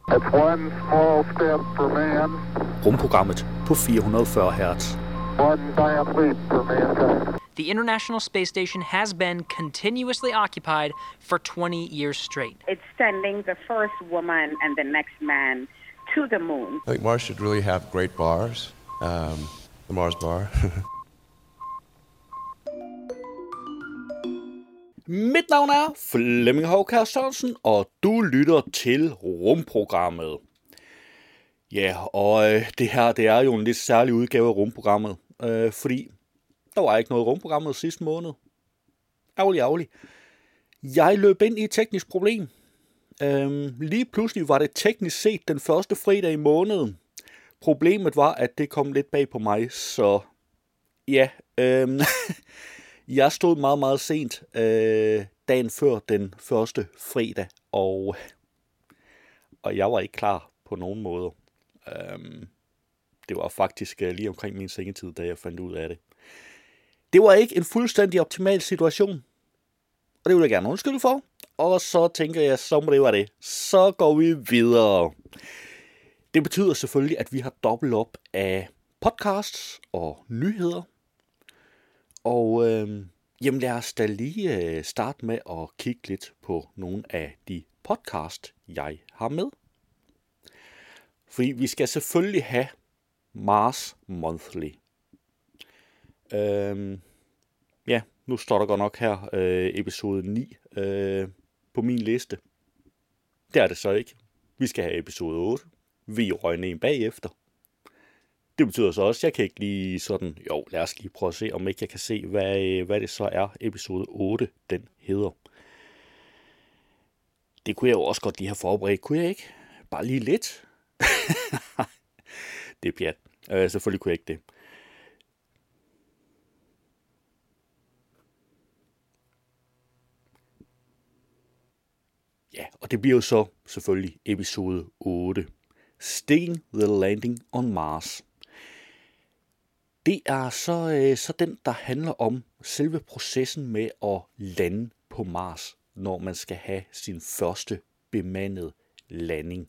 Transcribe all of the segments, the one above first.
It's one small step for man. Rumprogrammet på 440 Hz. One giant leap for mankind. The International Space Station has been continuously occupied for 20 years straight. It's sending the first woman and the next man to the moon. I think Mars should really have great bars. The Mars bar. Mit navn er Flemming Hovkær Sørensen, og du lytter til Rumprogrammet. Ja, og det her, det er jo en lidt særlig udgave af Rumprogrammet, fordi der var ikke noget Rumprogrammet sidste måned. Ærgerlig. Jeg løb ind i et teknisk problem. Lige pludselig var det teknisk set den første fredag i måneden. Problemet var, at det kom lidt bag på mig, så ja, jeg stod meget, meget sent dagen før den første fredag, og jeg var ikke klar på nogen måde. Det var faktisk lige omkring min sengetid, da jeg fandt ud af det. Det var ikke en fuldstændig optimal situation, og det vil jeg gerne undskylde for. Og så tænker jeg, så må det være det. Så går vi videre. Det betyder selvfølgelig, at vi har dobbelt op af podcasts og nyheder. Og jamen lad os da lige starte med at kigge lidt på nogle af de podcast, jeg har med. Fordi vi skal selvfølgelig have Mars Monthly. Ja, nu står der godt nok her episode 9 på min liste. Det er det så ikke. Vi skal have episode 8. Vi røg en bagefter. Det betyder så også, at jeg kan ikke lige sådan, lad os lige prøve at se, om ikke jeg kan se, hvad det så er, episode 8, den hedder. Det kunne jeg jo også godt lige have forberedt, kunne jeg ikke? Bare lige lidt. Det er pjat. Selvfølgelig kunne jeg ikke det. Ja, og det bliver jo så selvfølgelig episode 8. Sticking the Landing on Mars. Det er så den, der handler om selve processen med at lande på Mars, når man skal have sin første bemandede landing.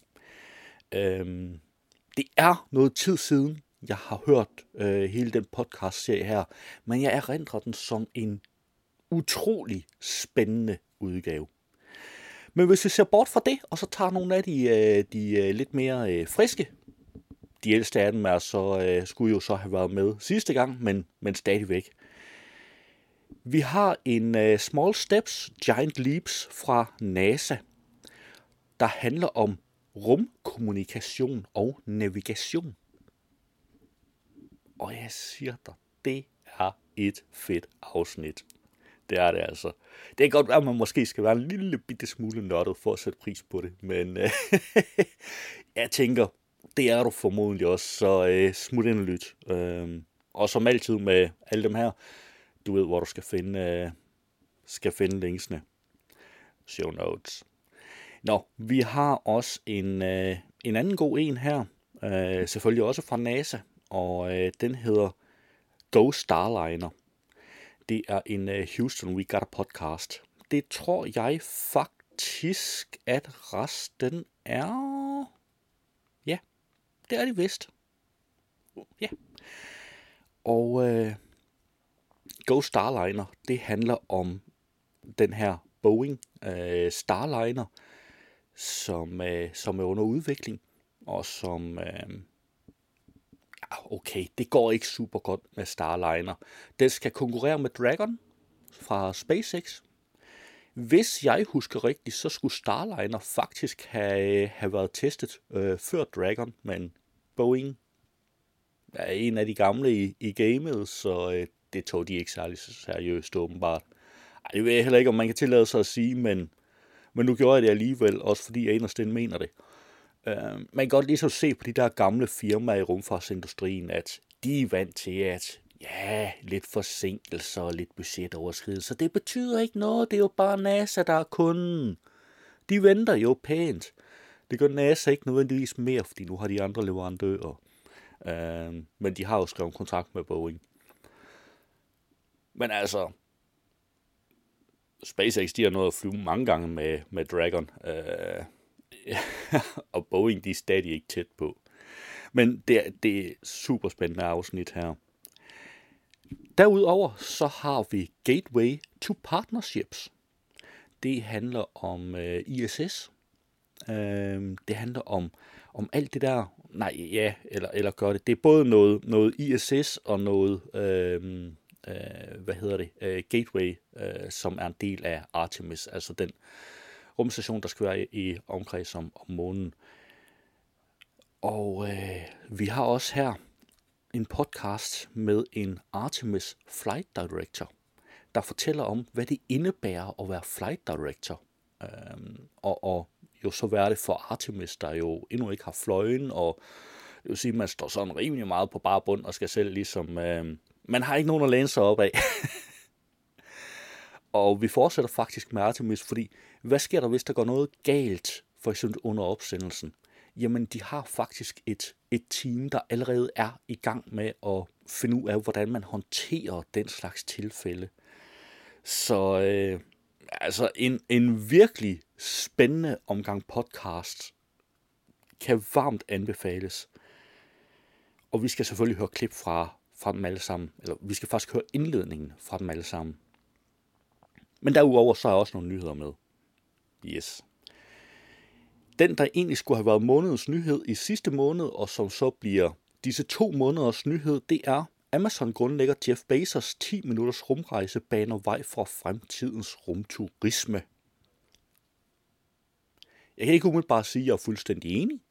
Det er noget tid siden, jeg har hørt hele den podcast-serie her, men jeg erindrer den som en utrolig spændende udgave. Men hvis vi ser bort fra det, og så tager nogle af de lidt mere friske, de ældste af dem skulle jo så have været med sidste gang, men stadigvæk. Vi har en Small Steps, Giant Leaps fra NASA, der handler om rumkommunikation og navigation. Og jeg siger dig, det er et fedt afsnit. Det er det altså. Det kan godt være, at man måske skal være en lille bitte smule nørdet for at sætte pris på det. Men jeg tænker, det er du formodentlig også, så smut ind og lyt. Og som altid med alle dem her, du ved, hvor du skal finde linksene. Show notes. Nå, vi har også en anden god en her. Selvfølgelig også fra NASA. Og den hedder Go Starliner. Det er en Houston We Got a Podcast. Det tror jeg faktisk, at resten er... Ja, det er det vist. Ja. Og Go Starliner, det handler om den her Boeing Starliner, som er under udvikling, og som... Okay, det går ikke super godt med Starliner. Den skal konkurrere med Dragon fra SpaceX. Hvis jeg husker rigtigt, så skulle Starliner faktisk have været testet før Dragon, men Boeing er en af de gamle i gamet, så det tog de ikke særlig seriøst åbenbart. Det ved jeg heller ikke, om man kan tillade sig at sige, men nu gjorde jeg det alligevel, også fordi jeg inderst inde mener det. Man kan godt lige så se på de der gamle firmaer i rumfartsindustrien, at de er vant til, at lidt forsinkelser og lidt budgetoverskridelser, det betyder ikke noget, det er jo bare NASA, der er kunden. De venter jo pænt. Det gør NASA ikke nødvendigvis mere, fordi nu har de andre leverandører. Men de har jo skrevet kontrakt med Boeing. Men altså, SpaceX, de har nået at flyve mange gange med Dragon. og Boeing, de er stadig ikke tæt på. Men det er super spændende afsnit her. Derudover så har vi Gateway to Partnerships. Det handler om ISS. Det handler om alt det der. Eller gør det. Det er både noget ISS og noget Gateway, som er en del af Artemis, altså den rumstation, der skal være i omkreds om månen. Og vi har også her en podcast med en Artemis Flight Director, der fortæller om, hvad det indebærer at være Flight Director. Og jo så være det for Artemis, der jo endnu ikke har fløjen, og det vil sige, at man står sådan rimelig meget på bare bund, og skal selv ligesom, man har ikke nogen at læne sig op af. Og vi fortsætter faktisk med Artemis, fordi hvad sker der, hvis der går noget galt, for eksempel under opsendelsen? Jamen, de har faktisk et team, der allerede er i gang med at finde ud af, hvordan man håndterer den slags tilfælde. Så altså en virkelig spændende omgang podcast kan varmt anbefales. Og vi skal selvfølgelig høre klip fra dem alle sammen. Eller vi skal faktisk høre indledningen fra dem alle sammen. Men derudover så er også nogle nyheder med. Yes. Den, der egentlig skulle have været månedens nyhed i sidste måned, og som så bliver disse 2 måneders nyhed, det er Amazon-grundlægger Jeff Bezos 10 minutters rumrejse baner vej for fremtidens rumturisme. Jeg kan ikke umiddelbart sige, at jeg er fuldstændig enig.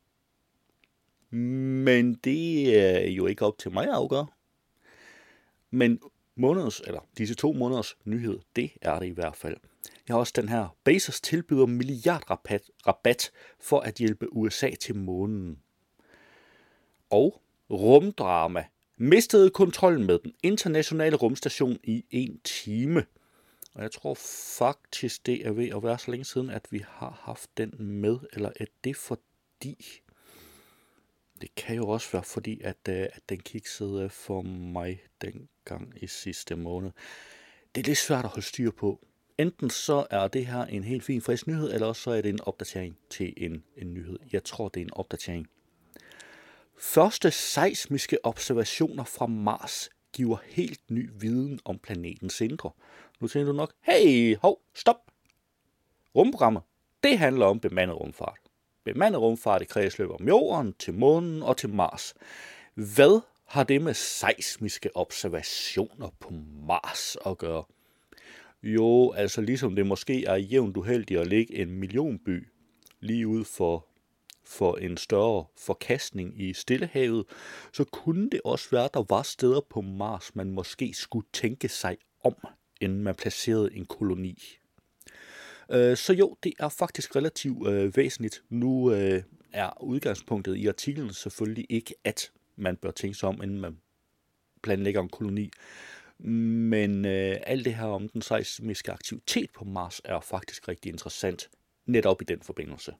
Men det er jo ikke op til mig at afgøre. Men disse 2 måneders nyhed, det er det i hvert fald. Jeg har også den her. Bezos tilbyder milliardrabat for at hjælpe USA til månen. Og rumdrama. Mistede kontrollen med den internationale rumstation i 1 time. Og jeg tror faktisk, det er ved at være så længe siden, at vi har haft den med. Eller er det fordi... Det kan jo også være fordi, at den kiksede for mig dengang i sidste måned. Det er lidt svært at holde styr på. Enten så er det her en helt fin frisk nyhed, eller så er det en opdatering til en nyhed. Jeg tror, det er en opdatering. Første seismiske observationer fra Mars giver helt ny viden om planetens indre. Nu tænker du nok, hey, stop. Rumprogrammet, det handler om bemandet rumfart. Bemandet rumfart i kredsløb om jorden, til månen og til Mars. Hvad har det med seismiske observationer på Mars at gøre? Jo, altså ligesom det måske er jævnt uheldigt at lægge en millionby lige ud for en større forkastning i Stillehavet, så kunne det også være, at der var steder på Mars, man måske skulle tænke sig om, inden man placerede en koloni. Så jo, det er faktisk relativt væsentligt. Nu er udgangspunktet i artiklen selvfølgelig ikke, at man bør tænke sig om, inden man planlægger en koloni. Men alt det her om den seismiske aktivitet på Mars er faktisk rigtig interessant, netop i den forbindelse.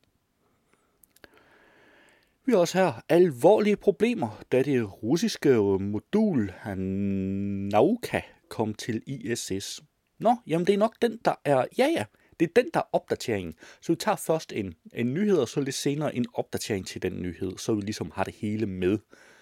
Vi har også her alvorlige problemer, da det russiske modul Nauka kom til ISS. Nå, jamen det er nok den, der er... Ja, det er den, der er opdateringen. Så vi tager først en nyhed, og så lidt senere en opdatering til den nyhed, så vi ligesom har det hele med.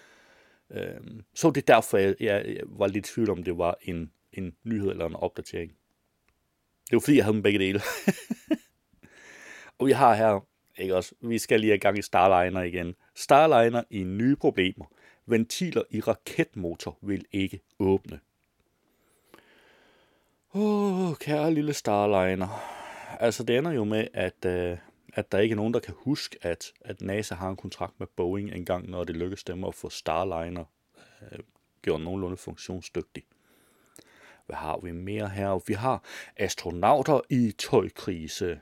Så det er derfor, jeg var lidt i tvivl om, det var en nyhed eller en opdatering. Det var fordi, jeg havde dem begge dele. Og vi har her, ikke også, vi skal lige have gang i Starliner igen. Starliner i nye problemer. Ventiler i raketmotor vil ikke åbne. Kære lille Starliner. Altså, det ender jo med, at der ikke er nogen, der kan huske, at NASA har en kontrakt med Boeing engang, når det lykkes dem at få Starliner gjort nogenlunde funktionsdygtig. Hvad har vi mere her? Vi har astronauter i tøjkrise.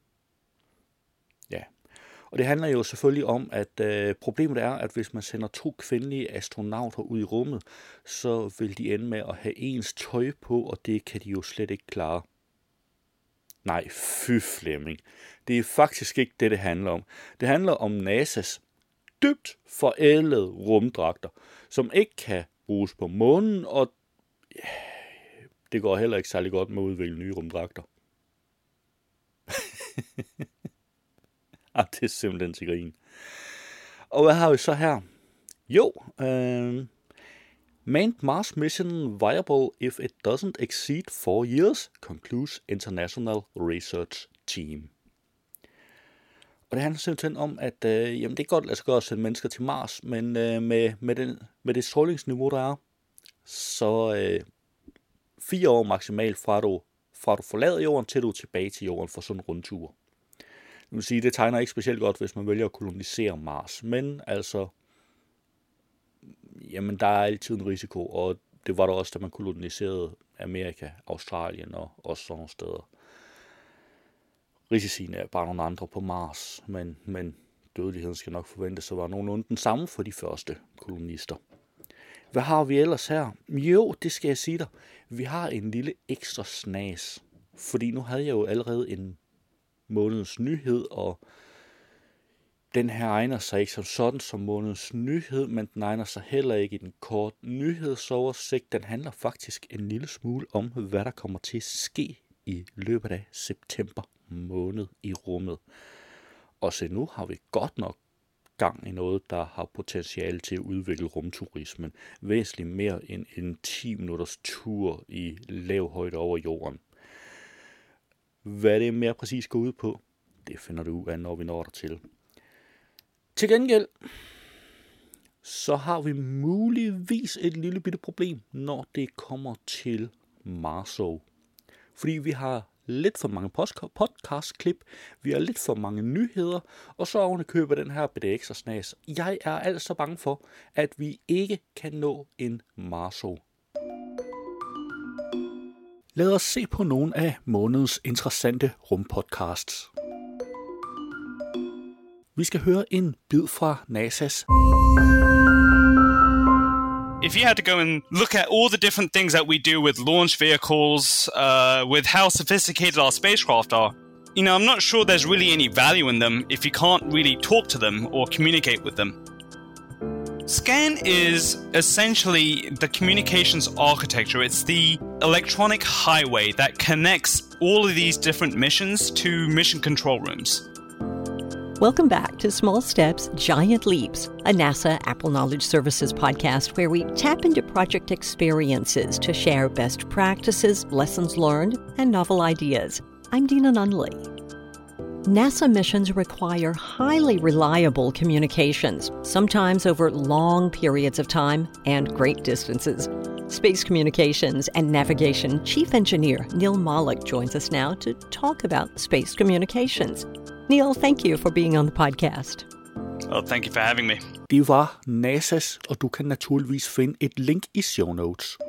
Ja, og det handler jo selvfølgelig om, at problemet er, at hvis man sender 2 kvindelige astronauter ud i rummet, så vil de ende med at have ens tøj på, og det kan de jo slet ikke klare. Nej, fy Flemming. Det er faktisk ikke det handler om. Det handler om NASA's dybt forædlede rumdragter, som ikke kan bruges på månen, og det går heller ikke særlig godt med at udvikle nye rumdragter. Det er simpelthen til grin. Og hvad har vi så her? Jo, Manned Mars mission viable if it doesn't exceed 4 years, concludes International Research Team. Og det handler simpelthen om, at jamen det er godt lade sig gøre at sende mennesker til Mars, men med det strålingsniveau, der er, så 4 år maksimalt fra du forlader jorden, til du er tilbage til jorden for sådan en rundtur. Det vil sige, det tegner ikke specielt godt, hvis man vælger at kolonisere Mars, men altså, jamen der er altid en risiko, og det var der også, da man koloniserede Amerika, Australien og også sådan nogle steder. Risicien er bare nogle andre på Mars, men dødeligheden skal nok forventes at være nogenlunde den samme for de første kolonister. Hvad har vi ellers her? Jo, det skal jeg sige dig. Vi har en lille ekstra snas, fordi nu havde jeg jo allerede en månedens nyhed, og den her egner sig ikke som sådan som månedens nyhed, men den egner sig heller ikke i den korte nyhedsoversigt. Den handler faktisk en lille smule om, hvad der kommer til at ske i løbet af september måned i rummet. Og så nu har vi godt nok gang i noget, der har potentiale til at udvikle rumturismen væsentligt mere end en 10 minutters tur i lav højde over jorden. Hvad det mere præcis går ud på, det finder du ud af, når vi når dertil. Til gengæld, så har vi muligvis et lille bitte problem, når det kommer til Marso. Fordi vi har lidt for mange podcast-klip, vi har lidt for mange nyheder, og så oven i købet den her bitte ekstra snas. Jeg er altså bange for, at vi ikke kan nå en Marso. Lad os se på nogle af månedens interessante rumpodcasts. Vi skal høre en bid fra NASA's. If you had to go and look at all the different things that we do with launch vehicles, with how sophisticated our spacecraft are, I'm not sure there's really any value in them if you can't really talk to them or communicate with them. SCAN is essentially the communications architecture. It's the electronic highway that connects all of these different missions to mission control rooms. Welcome back to Small Steps, Giant Leaps, a NASA Apple Knowledge Services podcast where we tap into project experiences to share best practices, lessons learned, and novel ideas. I'm Dina Nunley. NASA missions require highly reliable communications, sometimes over long periods of time and great distances. Space Communications and Navigation Chief Engineer Neil Malik joins us now to talk about space communications. Neil, thank you for being on the podcast. Oh, thank you for having me. Det var NASA's, og du kan naturligvis finde et link i show notes.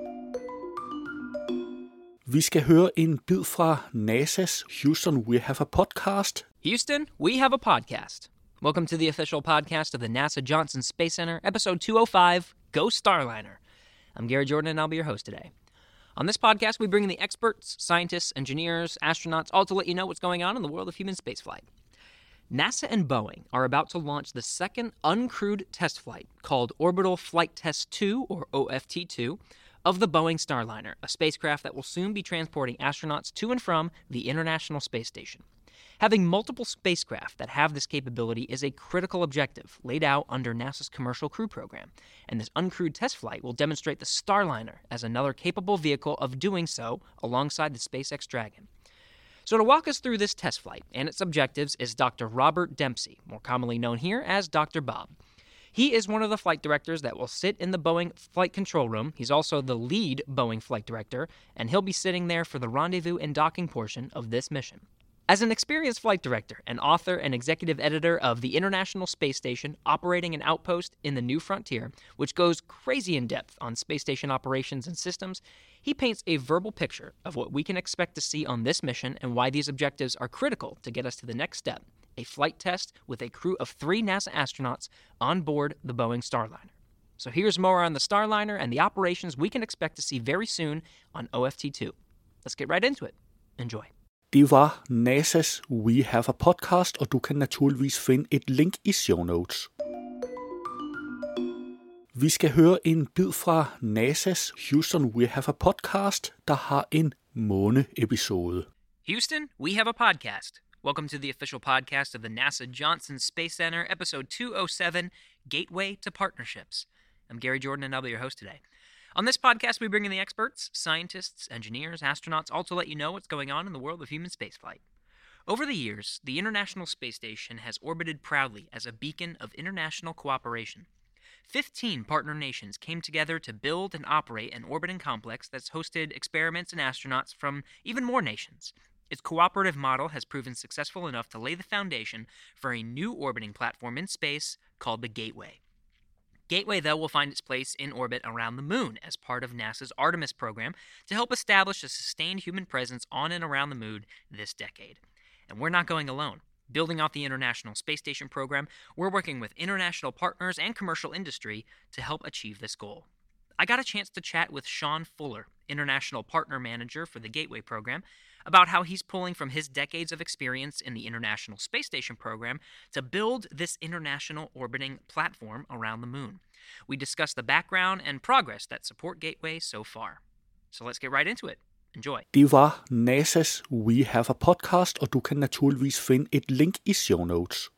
Vi skal høre en bid fra NASA's Houston, we have a podcast. Houston, we have a podcast. Welcome to the official podcast of the NASA Johnson Space Center, episode 205, Go Starliner. I'm Gary Jordan, and I'll be your host today. On this podcast, we bring in the experts, scientists, engineers, astronauts, all to let you know what's going on in the world of human spaceflight. NASA and Boeing are about to launch the second uncrewed test flight, called Orbital Flight Test 2, or OFT-2, of the Boeing Starliner, a spacecraft that will soon be transporting astronauts to and from the International Space Station. Having multiple spacecraft that have this capability is a critical objective laid out under NASA's Commercial Crew Program, and this uncrewed test flight will demonstrate the Starliner as another capable vehicle of doing so alongside the SpaceX Dragon. So to walk us through this test flight and its objectives is Dr. Robert Dempsey, more commonly known here as Dr. Bob. He is one of the flight directors that will sit in the Boeing flight control room. He's also the lead Boeing flight director, and he'll be sitting there for the rendezvous and docking portion of this mission. As an experienced flight director, an author and executive editor of the International Space Station, operating an outpost in the New Frontier, which goes crazy in depth on space station operations and systems, he paints a verbal picture of what we can expect to see on this mission and why these objectives are critical to get us to the next step, a flight test with a crew of 3 NASA astronauts on board the Boeing Starliner. So here's more on the Starliner and the operations we can expect to see very soon on OFT-2. Let's get right into it. Enjoy. Det var NASA's We Have a Podcast, og du kan naturligvis finde et link i show notes. Vi skal høre en bid fra NASA's Houston, we have a podcast, der har en måne-episode. Houston, we have a podcast. Welcome to the official podcast of the NASA Johnson Space Center, episode 207, Gateway to Partnerships. I'm Gary Jordan, and I'll be your host today. On this podcast, we bring in the experts, scientists, engineers, astronauts, all to let you know what's going on in the world of human spaceflight. Over the years, the International Space Station has orbited proudly as a beacon of international cooperation. 15 partner nations came together to build and operate an orbiting complex that's hosted experiments and astronauts from even more nations. Its cooperative model has proven successful enough to lay the foundation for a new orbiting platform in space called the Gateway. Gateway, though, will find its place in orbit around the moon as part of NASA's Artemis program to help establish a sustained human presence on and around the moon this decade. And we're not going alone. Building off the International Space Station program, we're working with international partners and commercial industry to help achieve this goal. I got a chance to chat with Sean Fuller, International Partner Manager for the Gateway program, about how he's pulling from his decades of experience in the International Space Station program to build this international orbiting platform around the moon. We discuss the background and progress that support Gateway so far. So let's get right into it. Enjoy. Det var NASA's We Have a Podcast, og du kan naturligvis finde et link i show notes.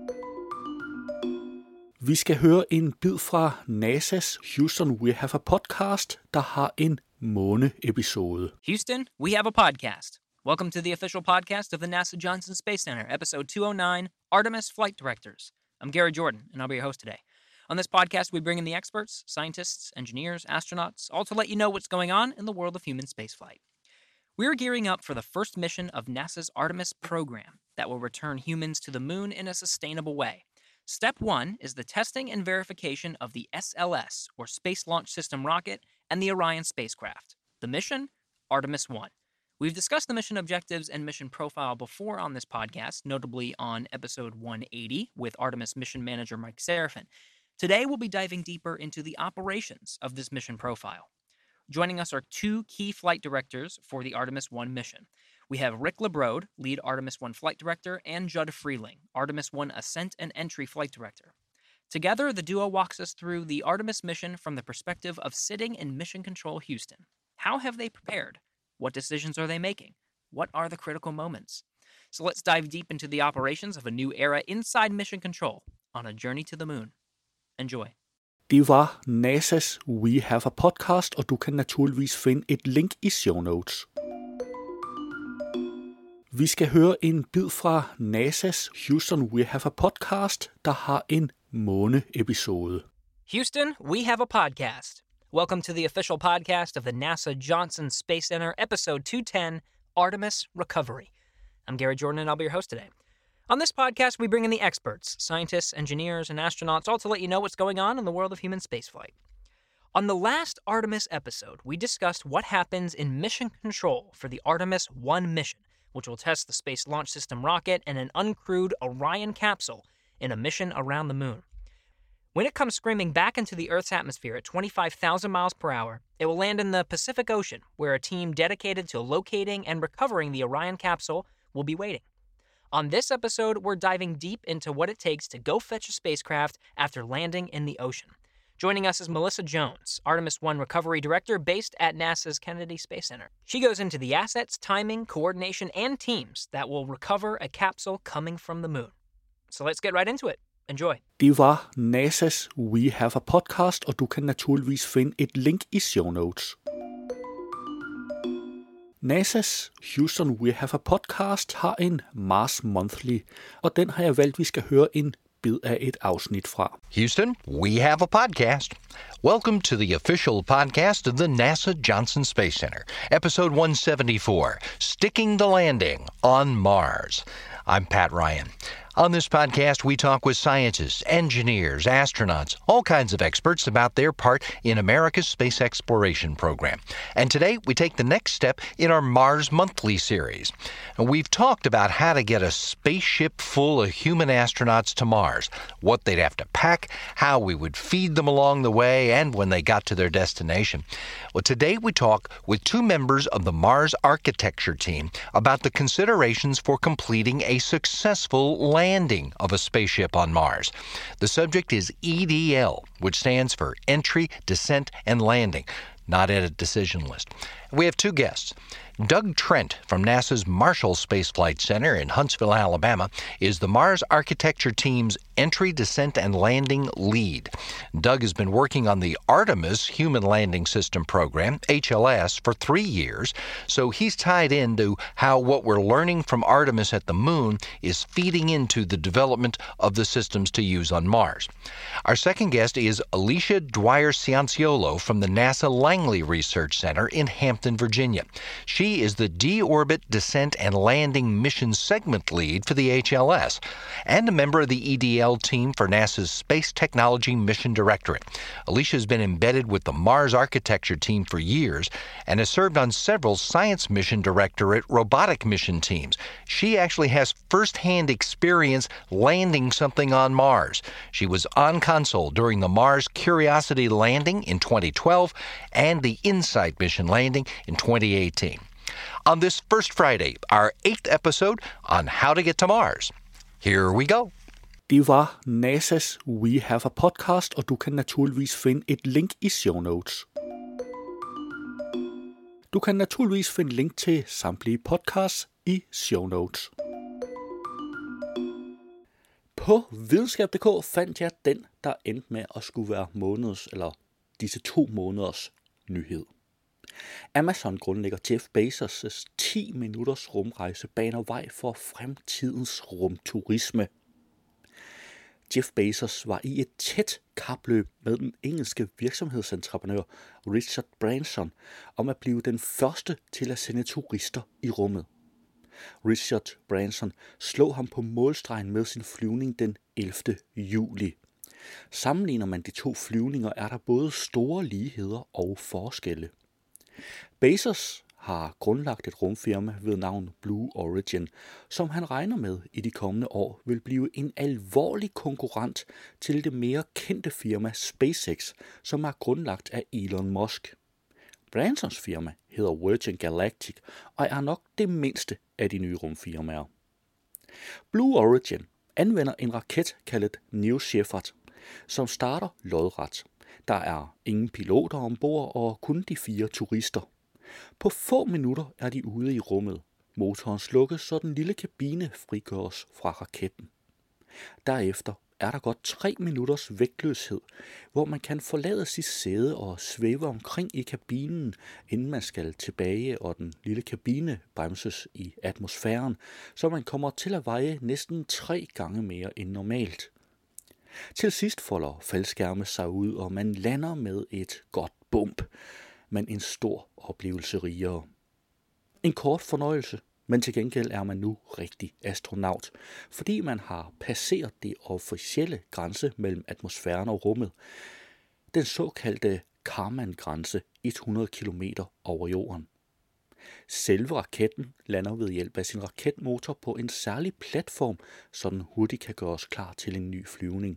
Vi skal høre en bid fra NASA's Houston We Have a Podcast, der har en måne-episode. Houston, we have a podcast. Welcome to the official podcast of the NASA Johnson Space Center, episode 209, Artemis Flight Directors. I'm Gary Jordan, and I'll be your host today. On this podcast, we bring in the experts, scientists, engineers, astronauts, all to let you know what's going on in the world of human spaceflight. We're gearing up for the first mission of NASA's Artemis program that will return humans to the moon in a sustainable way. Step 1 is the testing and verification of the SLS, or Space Launch System rocket, and the Orion spacecraft. The mission? Artemis 1. We've discussed the mission objectives and mission profile before on this podcast, notably on episode 180 with Artemis mission manager Mike Serafin. Today, we'll be diving deeper into the operations of this mission profile. Joining us are two key flight directors for the Artemis 1 mission. We have Rick LeBrode, lead Artemis 1 flight director, and Judd Freeling, Artemis 1 ascent and entry flight director. Together, the duo walks us through the Artemis mission from the perspective of sitting in Mission Control Houston. How have they prepared? What decisions are they making? What are the critical moments? So let's dive deep into the operations of a new era inside Mission Control on a journey to the moon. Enjoy. Det var NASA's We Have a Podcast, og du kan naturligvis finde et link i show notes. Vi skal høre en bid fra NASA's Houston We Have a Podcast, der har en måne-episode. Houston, we have a podcast. Welcome to the official podcast of the NASA Johnson Space Center, episode 210, Artemis Recovery. I'm Gary Jordan, and I'll be your host today. On this podcast, we bring in the experts, scientists, engineers, and astronauts, all to let you know what's going on in the world of human spaceflight. On the last Artemis episode, we discussed what happens in mission control for the Artemis 1 mission, which will test the Space Launch System rocket and an uncrewed Orion capsule in a mission around the moon. When it comes screaming back into the Earth's atmosphere at 25,000 miles per hour, it will land in the Pacific Ocean, where a team dedicated to locating and recovering the Orion capsule will be waiting. On this episode, we're diving deep into what it takes to go fetch a spacecraft after landing in the ocean. Joining us is Melissa Jones, Artemis 1 Recovery Director based at NASA's Kennedy Space Center. She goes into the assets, timing, coordination, and teams that will recover a capsule coming from the moon. So let's get right into it. Enjoy. Det var NASA's We Have a Podcast, og du kan naturligvis finde et link i show notes. NASA's Houston We Have a Podcast har en Mars Monthly, og den har jeg valgt, vi skal høre en bid af et afsnit fra. Houston, we have a podcast. Welcome to the official podcast of the NASA Johnson Space Center, episode 174, Sticking the Landing on Mars. I'm Pat Ryan. On this podcast, we talk with scientists, engineers, astronauts, all kinds of experts about their part in America's space exploration program. And today, we take the next step in our Mars Monthly series. We've talked about how to get a spaceship full of human astronauts to Mars, what they'd have to pack, how we would feed them along the way, and when they got to their destination. Well, today we talk with two members of the Mars architecture team about the considerations for completing a successful landing of a spaceship on Mars. The subject is EDL, which stands for Entry, Descent, and Landing, not at a decision list. We have two guests. Doug Trent from NASA's Marshall Space Flight Center in Huntsville, Alabama, is the Mars Architecture Team's Entry, Descent, and Landing lead. Doug has been working on the Artemis Human Landing System program, HLS, for 3 years, so he's tied into how what we're learning from Artemis at the moon is feeding into the development of the systems to use on Mars. Our second guest is Alicia Dwyer-Cianciolo from the NASA Langley Research Center in Hampton, Virginia. She is the D-Orbit Descent and Landing Mission Segment Lead for the HLS and a member of the EDL team for NASA's Space Technology Mission Directorate. Alicia has been embedded with the Mars Architecture Team for years and has served on several Science Mission Directorate robotic mission teams. She actually has first-hand experience landing something on Mars. She was on console during the Mars Curiosity landing in 2012 and the InSight mission landing in 2018. On this first Friday, our 8th episode on how to get to Mars. Here we go. Det var NASA's We Have a Podcast, og du kan naturligvis finde et link i show notes. Du kan naturligvis finde link til samtlige podcasts i show notes. På videnskab.dk fandt jeg den, der endte med at skulle være disse 2 måneders nyhed. Amazon-grundlægger Jeff Bezos' 10 minutters rumrejse baner vej for fremtidens rumturisme. Jeff Bezos var i et tæt kapløb med den engelske virksomhedsentreprenør Richard Branson om at blive den første til at sende turister i rummet. Richard Branson slog ham på målstregen med sin flyvning den 11. juli. Sammenligner man de 2 flyvninger, er der både store ligheder og forskelle. Bezos har grundlagt et rumfirma ved navn Blue Origin, som han regner med i de kommende år vil blive en alvorlig konkurrent til det mere kendte firma SpaceX, som er grundlagt af Elon Musk. Bransons firma hedder Virgin Galactic og er nok det mindste af de nye rumfirmaer. Blue Origin anvender en raket kaldet New Shepard, som starter lodret. Der er ingen piloter ombord og kun de 4 turister. På få minutter er de ude i rummet. Motoren slukkes, så den lille kabine frigøres fra raketten. Derefter er der godt 3 minutters vægtløshed, hvor man kan forlade sit sæde og svæve omkring i kabinen, inden man skal tilbage, og den lille kabine bremses i atmosfæren, så man kommer til at veje næsten 3 gange mere end normalt. Til sidst folder faldskærme sig ud, og man lander med et godt bump, men en stor oplevelse rigere. En kort fornøjelse, men til gengæld er man nu rigtig astronaut, fordi man har passeret det officielle grænse mellem atmosfæren og rummet. Den såkaldte Kármán-grænse 100 km over jorden. Selve raketten lander ved hjælp af sin raketmotor på en særlig platform, så den hurtigt kan gøres klar til en ny flyvning.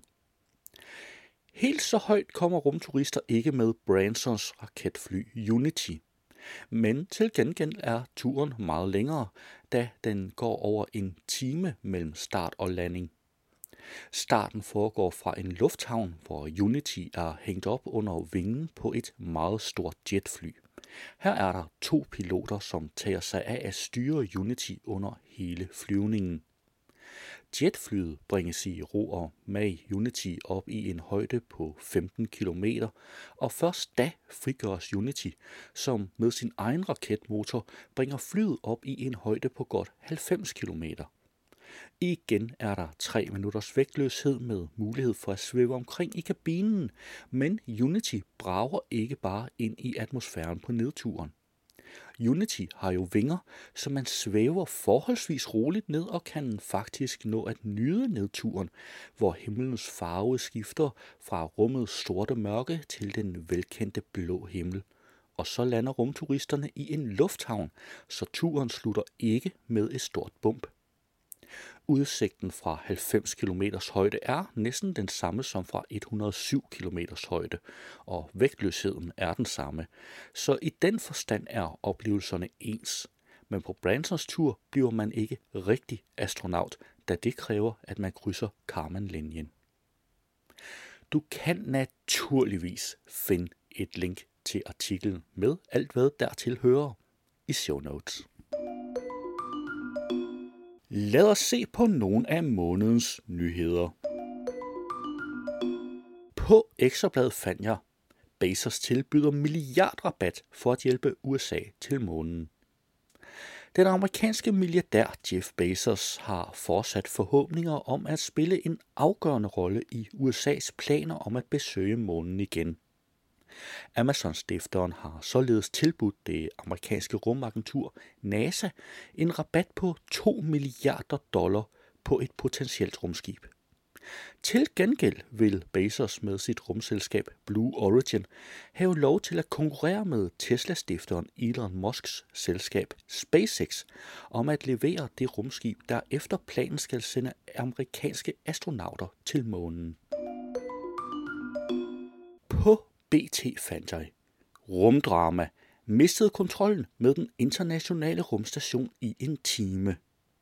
Helt så højt kommer rumturister ikke med Bransons raketfly Unity. Men til gengæld er turen meget længere, da den går over en time mellem start og landing. Starten foregår fra en lufthavn, hvor Unity er hængt op under vingen på et meget stort jetfly. Her er der 2 piloter, som tager sig af at styre Unity under hele flyvningen. Jetflyet bringes i ro og mag Unity op i en højde på 15 km, og først da frigøres Unity, som med sin egen raketmotor bringer flyet op i en højde på godt 90 km. Igen er der 3 minutters vægtløshed med mulighed for at svæve omkring i kabinen, men Unity brager ikke bare ind i atmosfæren på nedturen. Unity har jo vinger, så man svæver forholdsvis roligt ned og kan faktisk nå at nyde nedturen, hvor himlens farve skifter fra rummets sorte mørke til den velkendte blå himmel. Og så lander rumturisterne i en lufthavn, så turen slutter ikke med et stort bump. Udsigten fra 90 km højde er næsten den samme som fra 107 km højde, og vægtløsheden er den samme. Så i den forstand er oplevelserne ens. Men på Bransons tur bliver man ikke rigtig astronaut, da det kræver, at man krydser Kármán-linjen. Du kan naturligvis finde et link til artiklen med alt hvad dertil hører i show notes. Lad os se på nogle af månedens nyheder. På Ekstrabladet fandt jeg, Bezos tilbyder milliardrabat for at hjælpe USA til månen. Den amerikanske milliardær Jeff Bezos har fortsat forhåbninger om at spille en afgørende rolle i USA's planer om at besøge månen igen. Amazon-stifteren har således tilbudt det amerikanske rumagentur NASA en rabat på $2 milliarder på et potentielt rumskib. Til gengæld vil Bezos med sit rumselskab Blue Origin have lov til at konkurrere med Tesla-stifteren Elon Musks selskab SpaceX om at levere det rumskib, der efter planen skal sende amerikanske astronauter til månen. På BT fandt jeg rumdrama mistede kontrollen med den internationale rumstation i en time.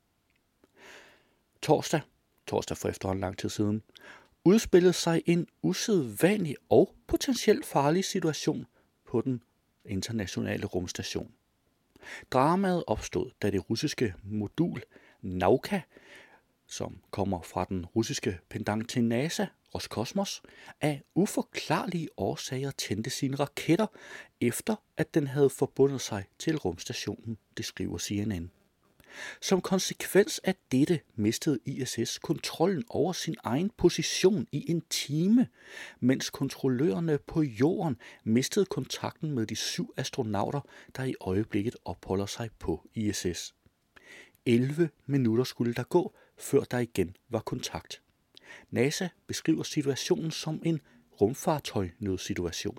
Torsdag for efterhånden lang tid siden, udspillede sig en usædvanlig og potentielt farlig situation på den internationale rumstation. Dramaet opstod, da det russiske modul Nauka, som kommer fra den russiske pendant til NASA, Roskosmos, af uforklarlige årsager tændte sine raketter, efter at den havde forbundet sig til rumstationen, det skriver CNN. Som konsekvens af dette mistede ISS kontrollen over sin egen position i en time, mens kontrollørerne på jorden mistede kontakten med de 7 astronauter, der i øjeblikket opholder sig på ISS. 11 minutter skulle der gå, før der igen var kontakt. NASA beskriver situationen som en rumfartøjnødsituation.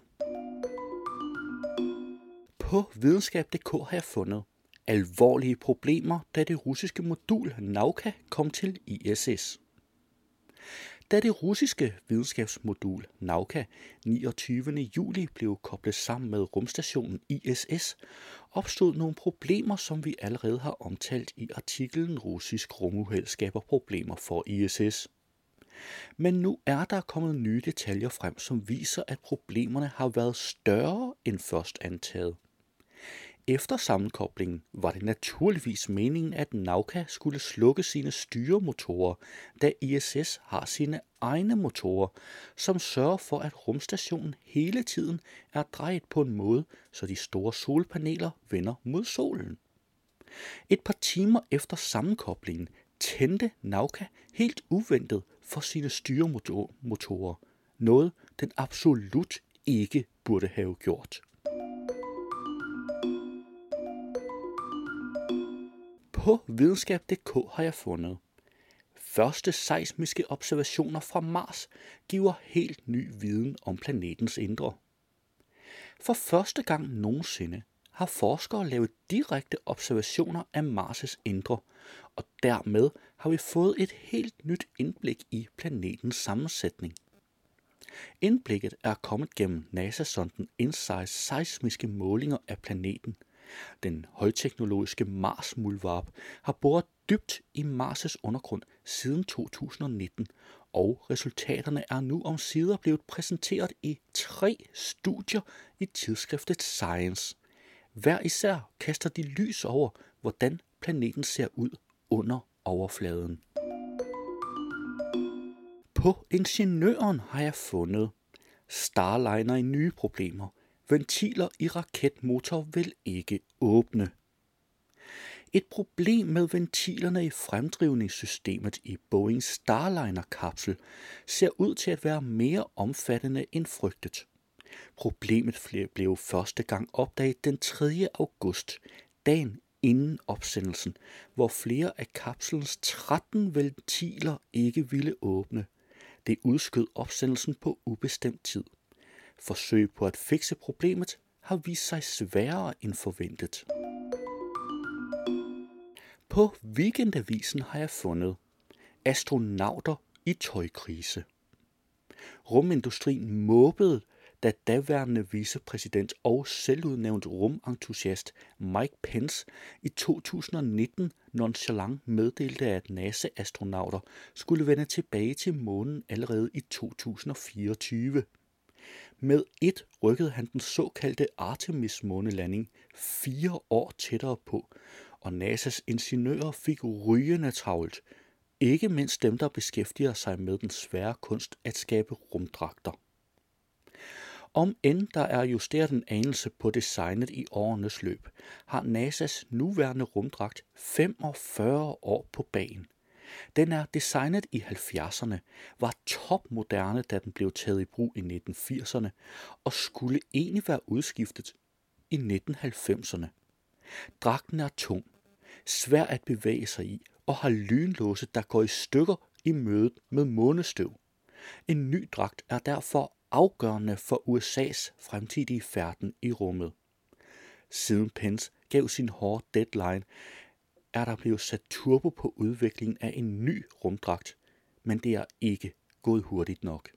På videnskab.dk har jeg fundet alvorlige problemer, da det russiske modul Nauka kom til ISS. Da det russiske videnskabsmodul Nauka 29. juli blev koblet sammen med rumstationen ISS, opstod nogle problemer, som vi allerede har omtalt i artiklen Russisk rumuheld skaber problemer for ISS. Men nu er der kommet nye detaljer frem, som viser, at problemerne har været større end først antaget. Efter sammenkoblingen var det naturligvis meningen, at Nauka skulle slukke sine styremotorer, da ISS har sine egne motorer, som sørger for, at rumstationen hele tiden er drejet på en måde, så de store solpaneler vender mod solen. Et par timer efter sammenkoblingen tændte Nauka helt uventet for sine styremotorer, noget den absolut ikke burde have gjort. På videnskab.dk har jeg fundet, første seismiske observationer fra Mars giver helt ny viden om planetens indre. For første gang nogensinde har forskere lavet direkte observationer af Mars' indre, og dermed har vi fået et helt nyt indblik i planetens sammensætning. Indblikket er kommet gennem NASA-sonden InSights seismiske målinger af planeten. Den højteknologiske Mars-muldvarp har boret dybt i Mars' undergrund siden 2019, og resultaterne er nu omsider blevet præsenteret i 3 studier i tidsskriftet Science. Hver især kaster de lys over, hvordan planeten ser ud under overfladen. På Ingeniøren har jeg fundet Starliner i nye problemer. Ventiler i raketmotor vil ikke åbne. Et problem med ventilerne i fremdrivningssystemet i Boeing Starliner-kapsel ser ud til at være mere omfattende end frygtet. Problemet blev første gang opdaget den 3. august, dagen inden opsendelsen, hvor flere af kapslens 13 ventiler ikke ville åbne. Det udskød opsendelsen på ubestemt tid. Forsøg på at fikse problemet har vist sig sværere end forventet. På Weekendavisen har jeg fundet astronauter i tøjkrise. Rumindustrien måbede, da daværende vicepræsident og selvudnævnt rumentusiast Mike Pence i 2019 nonchalant meddelte, at NASA-astronauter skulle vende tilbage til månen allerede i 2024. Med et rykkede han den såkaldte Artemis-månelanding 4 år tættere på, og NASA's ingeniører fik rygende travlt. Ikke mindst dem, der beskæftiger sig med den svære kunst at skabe rumdragter. Om end der er justeret en anelse på designet i årenes løb, har NASA's nuværende rumdragt 45 år på bagen. Den er designet i 70'erne, var topmoderne, da den blev taget i brug i 1980'erne, og skulle egentlig være udskiftet i 1990'erne. Dragten er tung, svær at bevæge sig i, og har lynlåse, der går i stykker i mødet med månestøv. En ny dragt er derfor afgørende for USA's fremtidige færden i rummet. Siden Pence gav sin hårde deadline, er der blevet sat turbo på udviklingen af en ny rumdragt, men det er ikke gået hurtigt nok.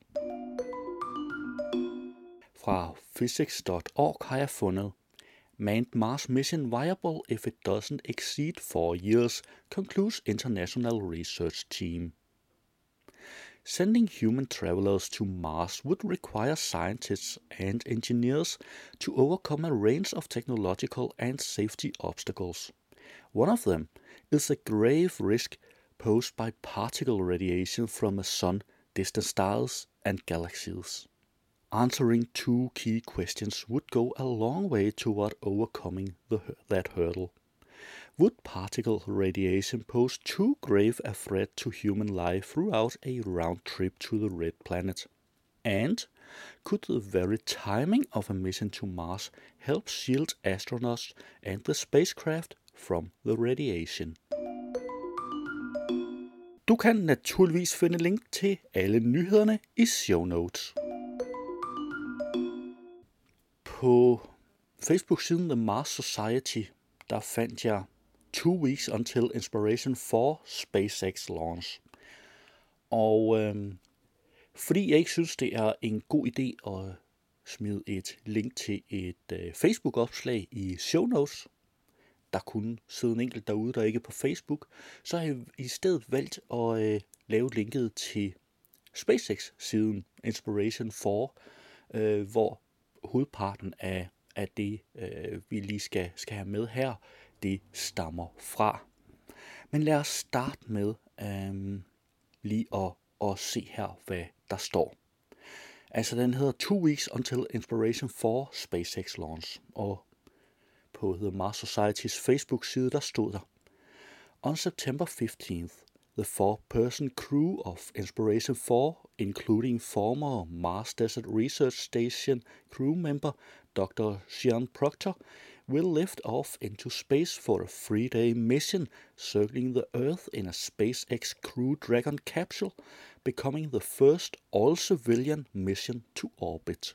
Fra physics.org har jeg fundet: Manned Mars mission viable if it doesn't exceed 4 years, concludes International Research Team. Sending human travelers to Mars would require scientists and engineers to overcome a range of technological and safety obstacles. One of them is the grave risk posed by particle radiation from the sun, distant stars, and galaxies. Answering 2 key questions would go a long way toward overcoming that hurdle. Would particle radiation pose too grave a threat to human life throughout a round trip to the red planet? And could the very timing of a mission to Mars help shield astronauts and the spacecraft from the radiation? Du kan naturligvis finde link til alle nyhederne i show notes. På Facebook-siden The Mars Society, der fandt jeg 2 weeks until inspiration for SpaceX launch. Og fordi jeg ikke synes, det er en god idé at smide et link til et Facebook-opslag i show notes, der kunne sidde en enkelt derude, der ikke er på Facebook, så har jeg i stedet valgt at lave linket til SpaceX-siden Inspiration 4, hvor hovedparten af det, vi lige skal have med her, det stammer fra. Men lad os starte med lige at se her, hvad der står. Altså, den hedder 2 weeks until inspiration for SpaceX launch, og på The Mars Society's Facebook-side, der stod der: On September 15th, the 4-person crew of Inspiration 4, including former Mars Desert Research Station crew member Dr. Sean Proctor, will lift off into space for a 3-day mission circling the Earth in a SpaceX Crew Dragon capsule, becoming the first all-civilian mission to orbit.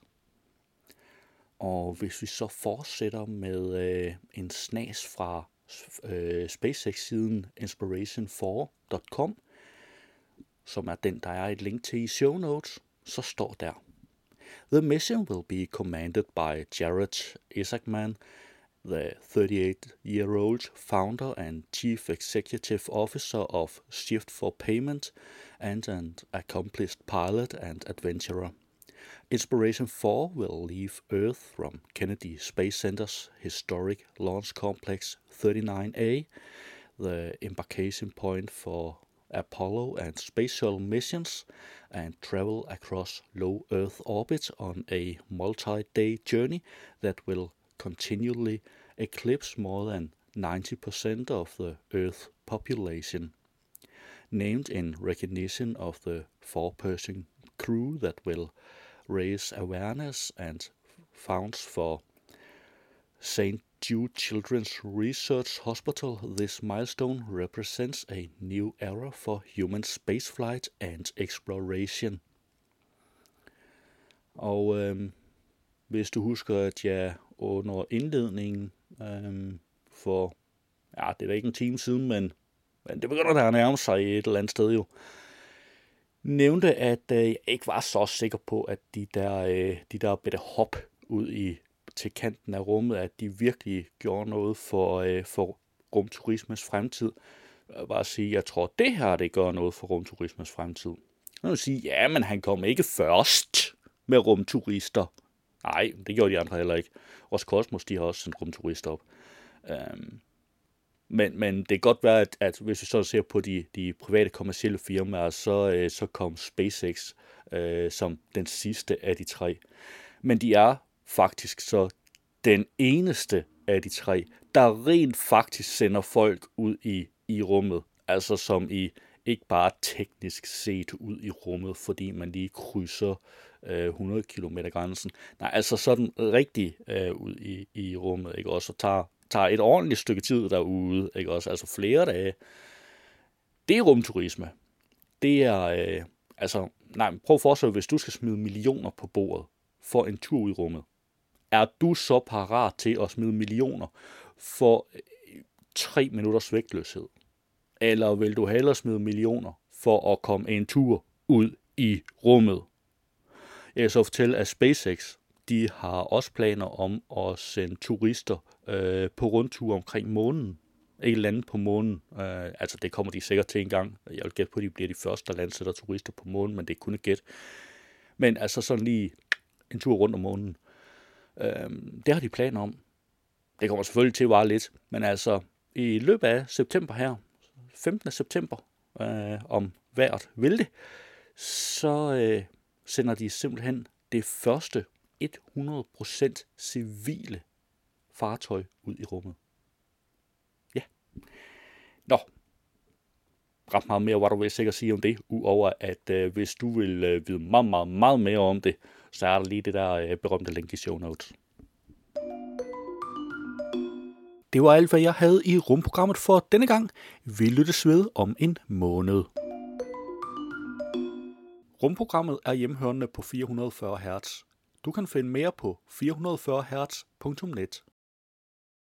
Og hvis vi så fortsætter med en snas fra SpaceX-siden inspiration4.com, som er den, der er et link til i show notes, så står der: The mission will be commanded by Jared Isaacman, the 38-year-old founder and chief executive officer of Shift for Payment, and an accomplished pilot and adventurer. Inspiration 4 will leave Earth from Kennedy Space Center's historic launch complex 39A, the embarkation point for Apollo and Space Shuttle missions, and travel across low Earth orbit on a multi-day journey that will continually eclipse more than 90% of the Earth population. Named in recognition of the 4-person crew that will raise awareness and funds for St. Jude Children's Research Hospital, this milestone represents a new era for human spaceflight and exploration. Og hvis du husker, at jeg under indledningen for, det er da ikke en time siden, men det begynder der at nærme sig et eller andet sted jo, nævnte, at jeg ikke var så sikker på, at de der bitte hop ud til kanten af rummet, at de virkelig gjorde noget for rumturismens fremtid. Jeg vil bare sige, jeg tror, det her det gør noget for rumturismens fremtid. Jeg vil sige, ja, men han kom ikke først. med rumturister. Nej, det gjorde de andre heller ikke. Roskosmos, de har også sendt rumturister op. Men det kan godt være, at hvis vi så ser på de private kommercielle firmaer, så kom SpaceX som den sidste af de 3. Men de er faktisk så den eneste af de 3, der rent faktisk sender folk ud i rummet. Altså som i ikke bare teknisk set ud i rummet, fordi man lige krydser 100 km grænsen. Nej, altså sådan rigtig ud i rummet, ikke også? Og tager et ordentligt stykke tid derude, ikke også? Altså flere dage. Det er rumturisme. Det er, prøv at forestille dig, hvis du skal smide millioner på bordet for en tur ud i rummet. Er du så parat til at smide millioner for 3 minutters vægtløshed? Eller vil du hellere smide millioner for at komme en tur ud i rummet? Jeg kan så fortælle, at SpaceX, de har også planer om at sende turister på rundtur omkring månen. Ikke lande på månen. Altså det kommer de sikkert til en gang. Jeg vil gætte på, at de bliver de første, der landsætter turister på månen, men det er kun et gæt. Men altså sådan lige en tur rundt om månen. Det har de planer om. Det kommer selvfølgelig til at vare lidt, men altså i løbet af september her, 15. september, om vejret vil det, så sender de simpelthen det første 100% civile fartøj ud i rummet. Ja. Nå. Ret meget mere, hvad du vil sikkert sige om det, udover at hvis du vil vide meget, meget, meget mere om det, så er der lige det der berømte link i show notes. Det var alt, hvad jeg havde i rumprogrammet for denne gang. Vi lyttes ved om en måned. Rumprogrammet er hjemhørende på 440 Hz. Du kan finde mere på 440hz.net.